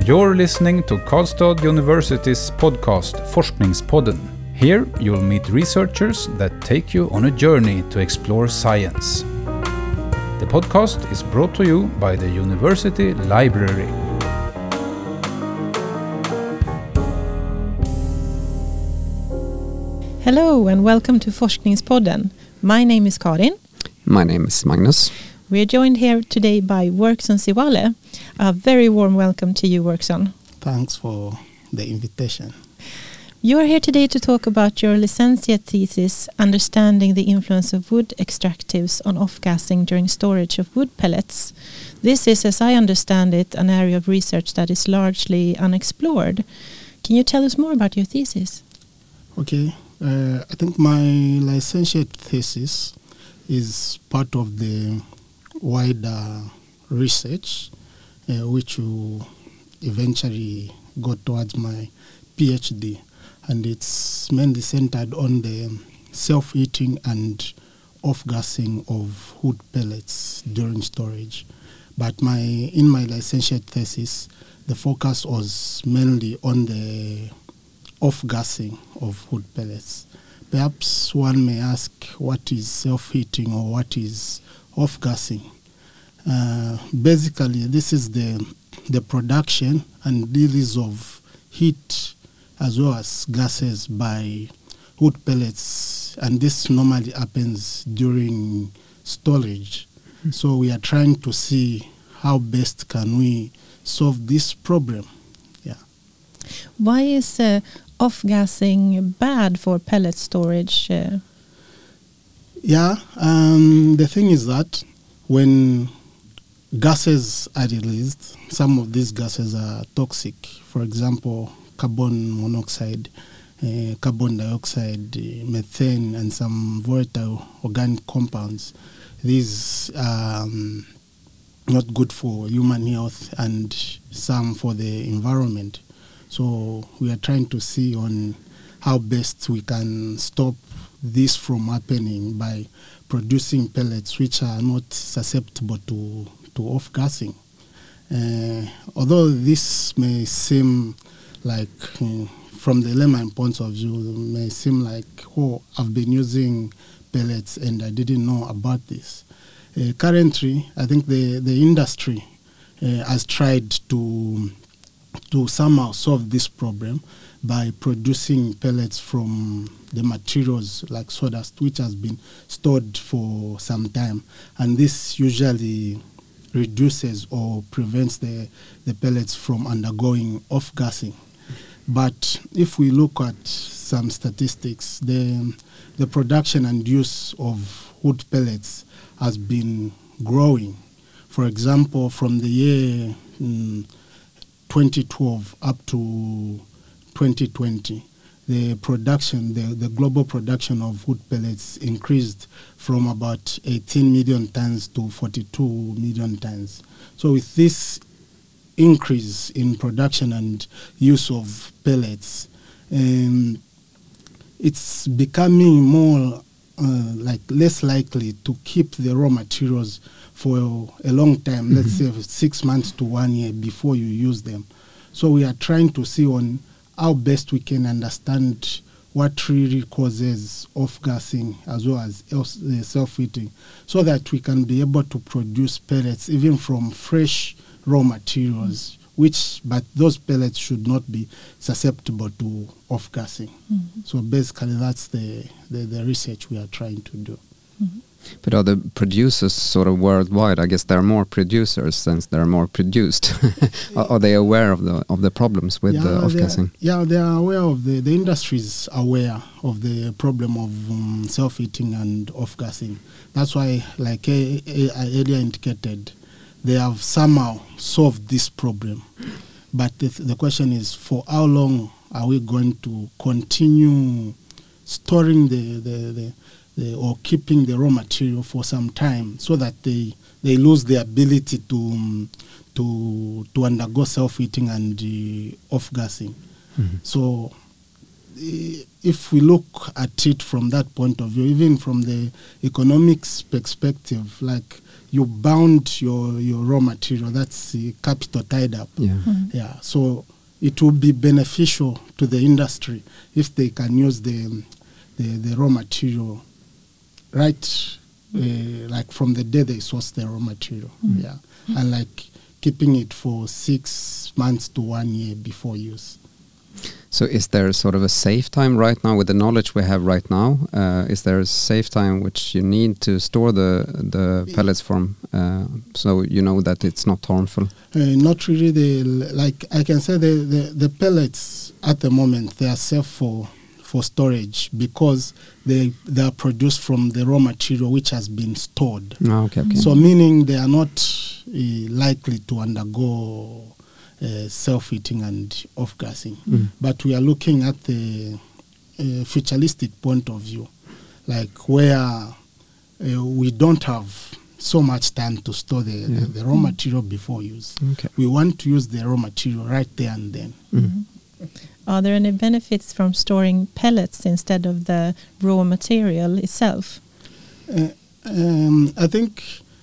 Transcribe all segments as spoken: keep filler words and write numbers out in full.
You're listening to Karlstad University's podcast Forskningspodden. Here you'll meet researchers that take you on a journey to explore science. The podcast is brought to you by the University Library. Hello and welcome to Forskningspodden. My name is Karin. My name is Magnus. We are joined here today by Workson Siwale. A very warm welcome to you, Workson. Thanks for the invitation. You are here today to talk about your licentiate thesis, Understanding the Influence of Wood Extractives on Off-gassing During Storage of Wood Pellets. This is, as I understand it, an area of research that is largely unexplored. Can you tell us more about your thesis? Okay. Uh, I think my licentiate thesis is part of the wider research uh, which will eventually go towards my PhD, and it's mainly centered on the self-heating and off-gassing of wood pellets during storage. But my in my licentiate thesis, the focus was mainly on the off-gassing of wood pellets. Perhaps one may ask, what is self-heating or what is off-gassing? Uh, basically, this is the the production and release of heat as well as gases by wood pellets, and this normally happens during storage. Mm-hmm. So we are trying to see how best can we solve this problem. Yeah. Why is uh, off-gassing bad for pellet storage? Uh? Yeah, um, the thing is that when gases are released, some of these gases are toxic. For example, carbon monoxide, uh, carbon dioxide, uh, methane, and some volatile organic compounds. These are um, not good for human health and some for the environment. So we are trying to see on how best we can stop this from happening by producing pellets which are not susceptible to, to off-gassing. Uh, although this may seem like, uh, from the layman point of view, may seem like, oh, I've been using pellets and I didn't know about this. Uh, currently, I think the, the industry uh, has tried to to somehow solve this problem by producing pellets from the materials like sawdust, which has been stored for some time. And this usually reduces or prevents the, the pellets from undergoing off-gassing. But if we look at some statistics, the, the production and use of wood pellets has been growing. For example, from the year mm, twenty twelve up to twenty twenty, the production, the, the global production of wood pellets increased from about eighteen million tons to forty-two million tons. So with this increase in production and use of pellets, um, it's becoming more uh, like less likely to keep the raw materials for a long time, mm-hmm. let's say six months to one year before you use them. So we are trying to see on how best we can understand what really causes off-gassing as well as self-heating, so that we can be able to produce pellets even from fresh raw materials, mm-hmm. which, but those pellets should not be susceptible to off-gassing. Mm-hmm. So basically that's the, the, the research we are trying to do. Mm-hmm. But are the producers sort of worldwide? I guess there are more producers since there are more produced. are, are they aware of the of the problems with yeah, the off-gassing? Yeah, they are aware of the, the industry is aware of the problem of um, self-heating and off-gassing. That's why, like I, I earlier indicated, they have somehow solved this problem. But the, the question is, for how long are we going to continue storing the, the, the The, or keeping the raw material for some time, so that they they lose the ability to um, to to undergo self-heating and uh, off-gassing. Mm-hmm. So if we look at it from that point of view, even from the economics perspective, like you bound your, your raw material. That's the capital tied up. Yeah. Mm. Yeah. So it will be beneficial to the industry if they can use the the, the raw material right, uh, like from the day they source the raw material. Mm. Yeah. And like keeping it for six months to one year before use. So is there sort of a safe time right now with the knowledge we have right now? Uh, is there a safe time which you need to store the the pellets from, uh, so you know that it's not harmful? Uh, not really. The like I can say the, the, the pellets at the moment they are safe for for storage because they they are produced from the raw material which has been stored. Oh, okay, okay. So meaning they are not uh, likely to undergo uh, self-heating and off-gassing. Mm. But we are looking at the uh, futuristic point of view, like where uh, we don't have so much time to store the, Yeah. the, the raw material before use. Okay. We want to use the raw material right there and then. Mm. Are there any benefits from storing pellets instead of the raw material itself? Uh, um, I think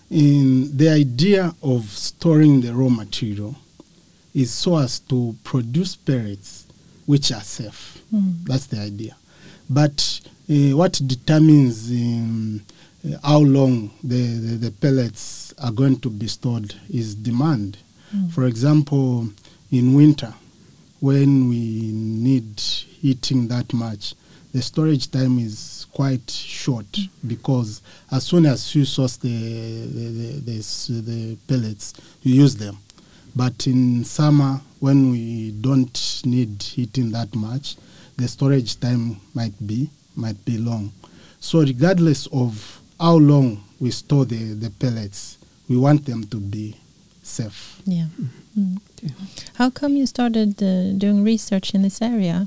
in the idea of storing the raw material is so as to produce pellets which are safe. Mm. That's the idea. But uh, what determines um, uh, how long the, the, the pellets are going to be stored is demand. Mm. For example, in winter, when we need heating that much, the storage time is quite short mm. because as soon as you source the the, the, the, the pellets, you use them. But in summer, when we don't need heating that much, the storage time might be might be long. So regardless of how long we store the, the pellets, we want them to be safe. Yeah. Mm. How come you started uh, doing research in this area?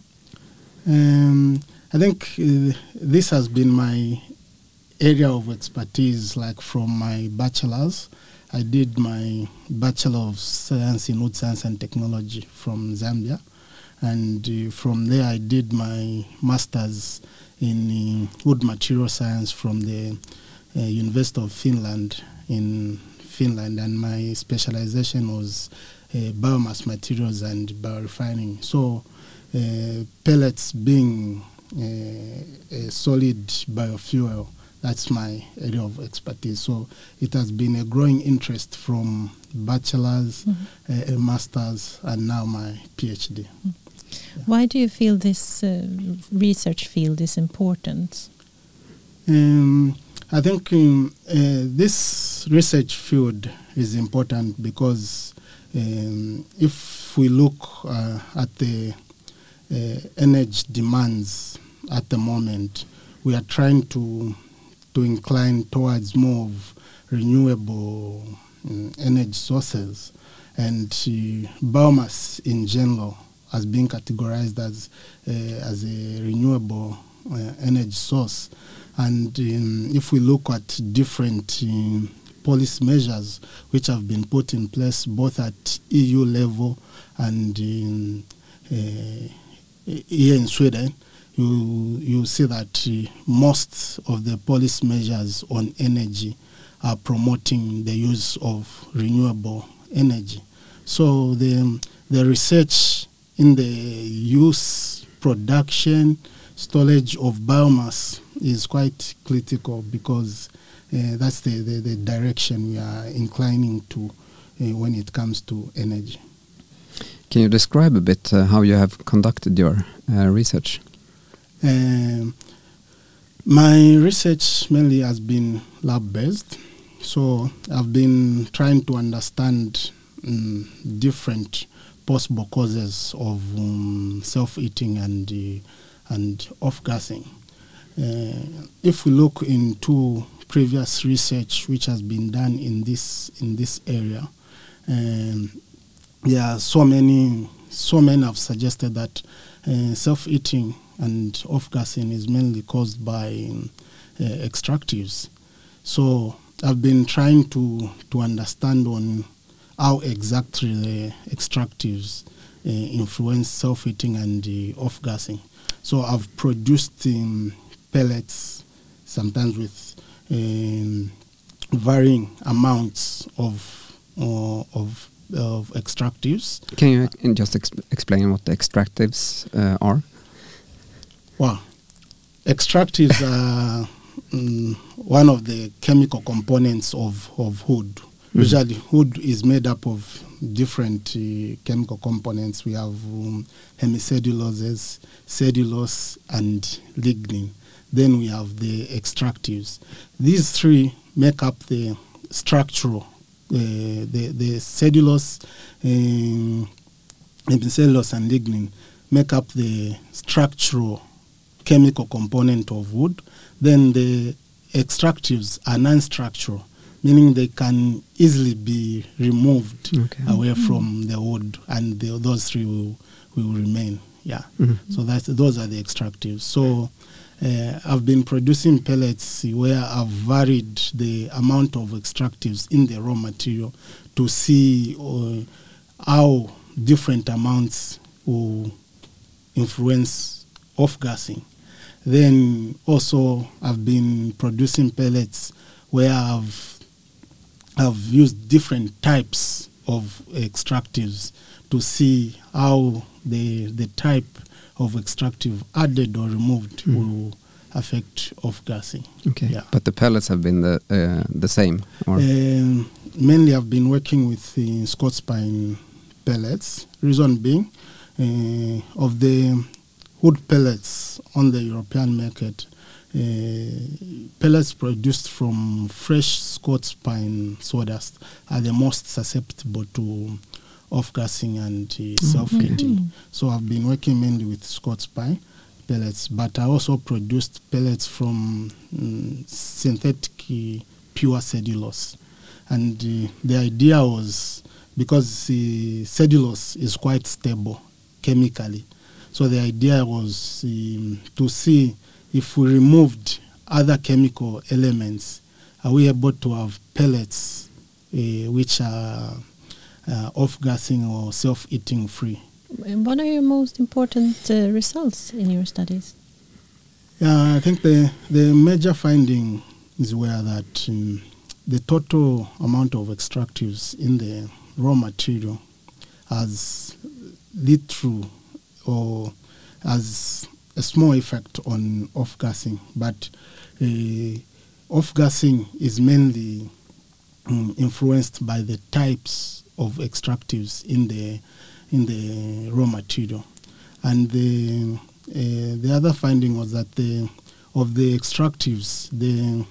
Um, I think uh, this has been my area of expertise, like from my bachelor's. I did my Bachelor of Science in Wood Science and Technology from Zambia. And uh, from there I did my master's in uh, wood material science from the uh, University of Finland in Finland. And my specialization was uh, biomass materials and biorefining. So uh, pellets being uh, a solid biofuel, that's my area of expertise. So it has been a growing interest from bachelor's, mm-hmm. uh, a master's, and now my PhD. Mm. Yeah. Why do you feel this uh, research field is important? Um, I think um, uh, this research field is important because um, if we look uh, at the uh, energy demands at the moment, we are trying to to incline towards more of renewable um, energy sources, and uh, biomass in general has been categorized as uh, as a renewable uh, energy source. And um, if we look at different um, policy measures which have been put in place both at E U level and in, uh, here in Sweden, you you see that uh, most of the policy measures on energy are promoting the use of renewable energy. So the the research in the use, production, storage of biomass is quite critical because uh, that's the, the, the direction we are inclining to uh, when it comes to energy. Can you describe a bit uh, how you have conducted your uh, research? Um, my research mainly has been lab-based, so I've been trying to understand um, different possible causes of um, self-heating and uh, and off-gassing. Uh, if we look into previous research which has been done in this in this area, um, there are so many so many have suggested that uh, self-heating and off-gassing is mainly caused by um, uh, extractives. So I've been trying to to understand on how exactly the extractives uh, influence self-heating and uh, off-gassing. So I've produced um, pellets, sometimes with um, varying amounts of uh, of of extractives. Can you uh, just ex explain what the extractives uh, are? Well, extractives are um, one of the chemical components of, of wood. Mm-hmm. Usually wood is made up of different uh, chemical components. We have um, hemicelluloses, cellulose, and lignin. Then we have the extractives. These three make up the structural, uh, the, the cellulose, um, hemicellulose, and lignin make up the structural chemical component of wood. Then the extractives are non-structural, meaning they can easily be removed okay. away mm-hmm. from the wood, and the, those three will, will remain. Yeah. Mm-hmm. So that's those are the extractives. So uh, I've been producing pellets where I've varied the amount of extractives in the raw material to see uh, how different amounts will influence off-gassing. Then also I've been producing pellets where I've I've used different types of extractives to see how the the type of extractive added or removed mm. will affect off-gassing. Okay, yeah. But the pellets have been the uh, the same? Or? Um, mainly I've been working with the Scots pine pellets. Reason being, uh, of the wood pellets on the European market, uh, pellets produced from fresh Scots pine sawdust are the most susceptible to off-gassing and uh, self-heating. Mm-hmm. So I've been working mainly with Scots pine pellets, but I also produced pellets from um, synthetic uh, pure cellulose. And uh, the idea was, because uh, cellulose is quite stable chemically, so the idea was um, to see if we removed other chemical elements, are we able to have pellets uh, which are uh, off-gassing or self-eating free. What are your most important uh, results in your studies? Yeah, I think the, the major findings were that um, the total amount of extractives in the raw material has lead through or has a small effect on off-gassing, but uh, off-gassing is mainly um, influenced by the types of extractives in the in the raw material. And the uh, the other finding was that the of the extractives, the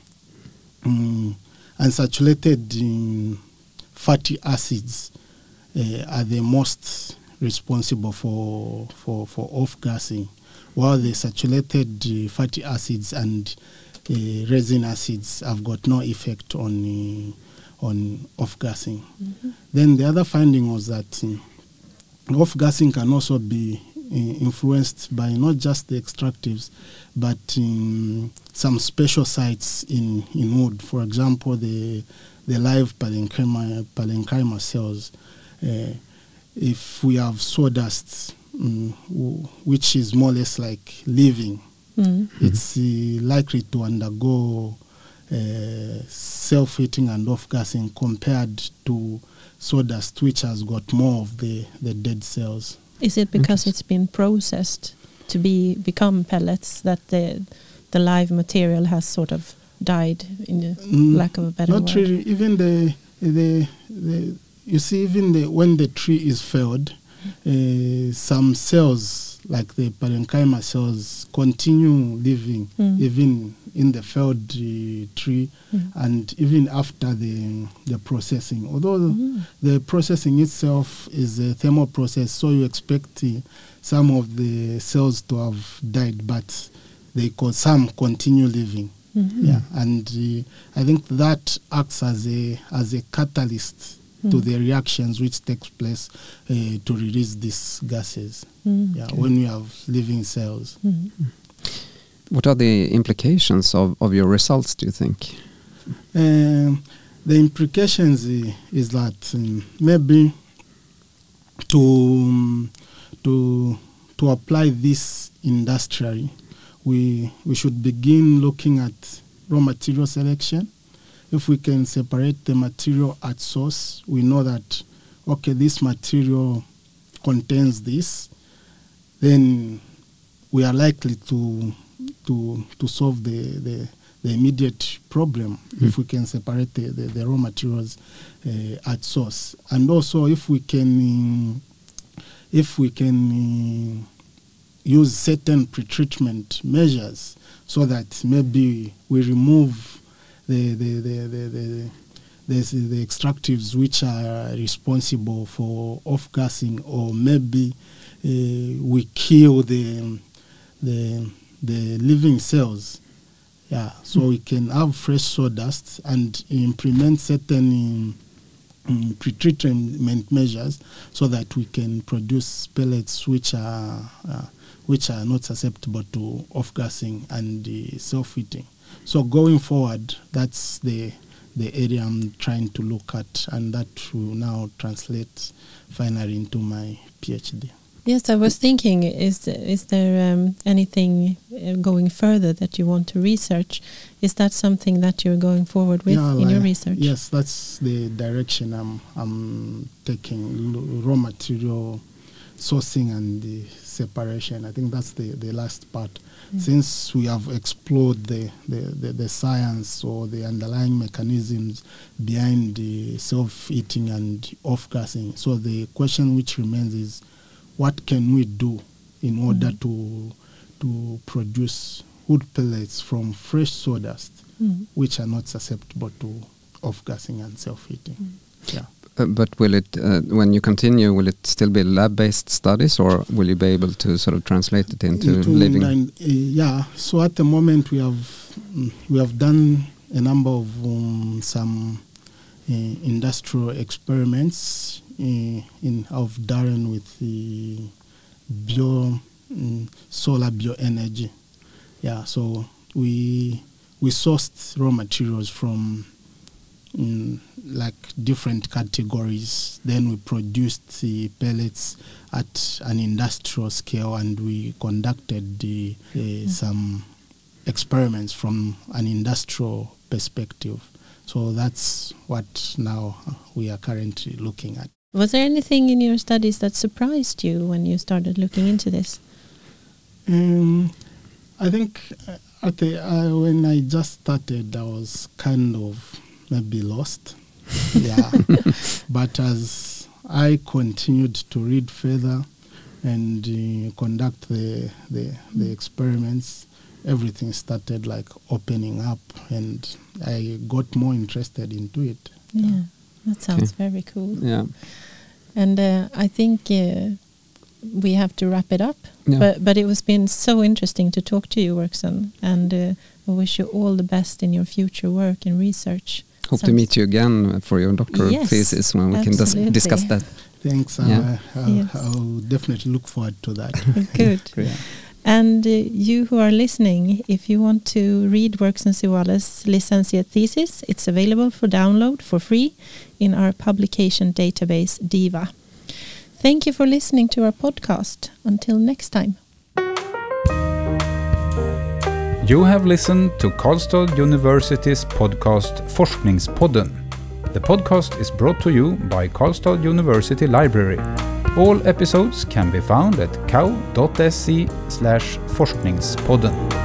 um, unsaturated um, fatty acids uh, are the most responsible for for, for off-gassing, while the saturated uh, fatty acids and uh, resin acids have got no effect on uh, on off-gassing. Mm-hmm. Then the other finding was that uh, off-gassing can also be uh, influenced by not just the extractives, but um, some special sites in, in wood. For example, the the live parenchyma, parenchyma cells. Uh, if we have sawdust, um, w- which is more or less like living, mm-hmm. it's uh, likely to undergo uh, self-heating and off-gassing compared to sawdust, which has got more of the, the dead cells. Is it because it's been processed to be become pellets that the the live material has sort of died, in the mm, lack of a better not word? Not really. Even the the the you see, even the when the tree is felled, uh, some cells like the parenchyma cells continue living mm. even in the felled uh, tree, mm. and even after the the processing. Although mm. the processing itself is a thermal process, so you expect uh, some of the cells to have died, but they co- some continue living. Mm-hmm. Yeah, and uh, I think that acts as a as a catalyst mm. to the reactions which takes place uh, to release these gases. Mm. Yeah, okay. When you have living cells. Mm-hmm. What are the implications of, of your results, do you think? Um, the implications uh, is that um, maybe to um, to to apply this industrially, we we should begin looking at raw material selection, if we can separate the material at source, we know that, okay, this material contains this, then we are likely to to to solve the the, the immediate problem mm. if we can separate the, the, the raw materials uh, at source. And also if we can if we can uh, use certain pretreatment measures so that maybe we remove the the the the, the There's the extractives which are responsible for off-gassing, or maybe uh, we kill the the the living cells. Yeah, so mm. we can have fresh sawdust and implement certain um, um, pretreatment measures so that we can produce pellets which are uh, which are not susceptible to off-gassing and uh, self-heating. So going forward, that's the the area I'm trying to look at, and that will now translate finally into my PhD. Yes, I was thinking, is is there um, anything uh, going further that you want to research? Is that something that you're going forward with yeah, in like, your research? Yes, that's the direction I'm I'm taking, raw material sourcing and the separation. I think that's the, the last part. Mm. Since we have explored the, the, the, the science or the underlying mechanisms behind the self-heating and off-gassing, so the question which remains is, what can we do in order mm. to to produce wood pellets from fresh sawdust, mm. which are not susceptible to off-gassing and self-heating? Mm. Yeah. Uh, but will it, uh, when you continue, will it still be lab-based studies, or will you be able to sort of translate it into, into living? And, uh, yeah. So at the moment we have we have done a number of um, some uh, industrial experiments uh, in of Durham with the bio um, solar bioenergy. Yeah. So we we sourced raw materials from in like different categories. Then we produced the pellets at an industrial scale, and we conducted the, uh, mm. some experiments from an industrial perspective. So that's what now we are currently looking at. Was there anything in your studies that surprised you when you started looking into this? Um, I think uh, at the, uh, when I just started, I was kind of maybe lost. Yeah. But as I continued to read further and uh, conduct the, the the experiments, everything started like opening up, and I got more interested into it. Yeah, that sounds okay. very cool. Yeah. And uh, I think uh, we have to wrap it up. Yeah. But but it was been so interesting to talk to you, Workson, and uh, I wish you all the best in your future work and research. Hope Sounds to meet you again for your doctoral yes, thesis when we absolutely. can dis- discuss that. Thanks. Yeah. Uh, I'll, yes. I'll definitely look forward to that. Good. Yeah. And uh, you who are listening, if you want to read Workson Siwala's licentiate thesis, it's available for download for free in our publication database, DIVA. Thank you for listening to our podcast. Until next time. You have listened to Karlstad University's podcast Forskningspodden. The podcast is brought to you by Karlstad University Library. All episodes can be found at k a u dot s e slash forskningspodden.